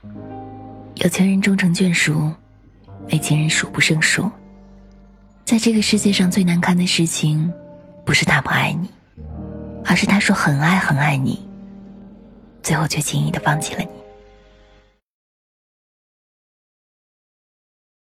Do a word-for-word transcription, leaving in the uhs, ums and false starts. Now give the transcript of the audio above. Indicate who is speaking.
Speaker 1: 有情人终成眷属，没情人数不胜数。在这个世界上最难堪的事情，不是他不爱你，而是他说很爱很爱你，最后却轻易地放弃了你。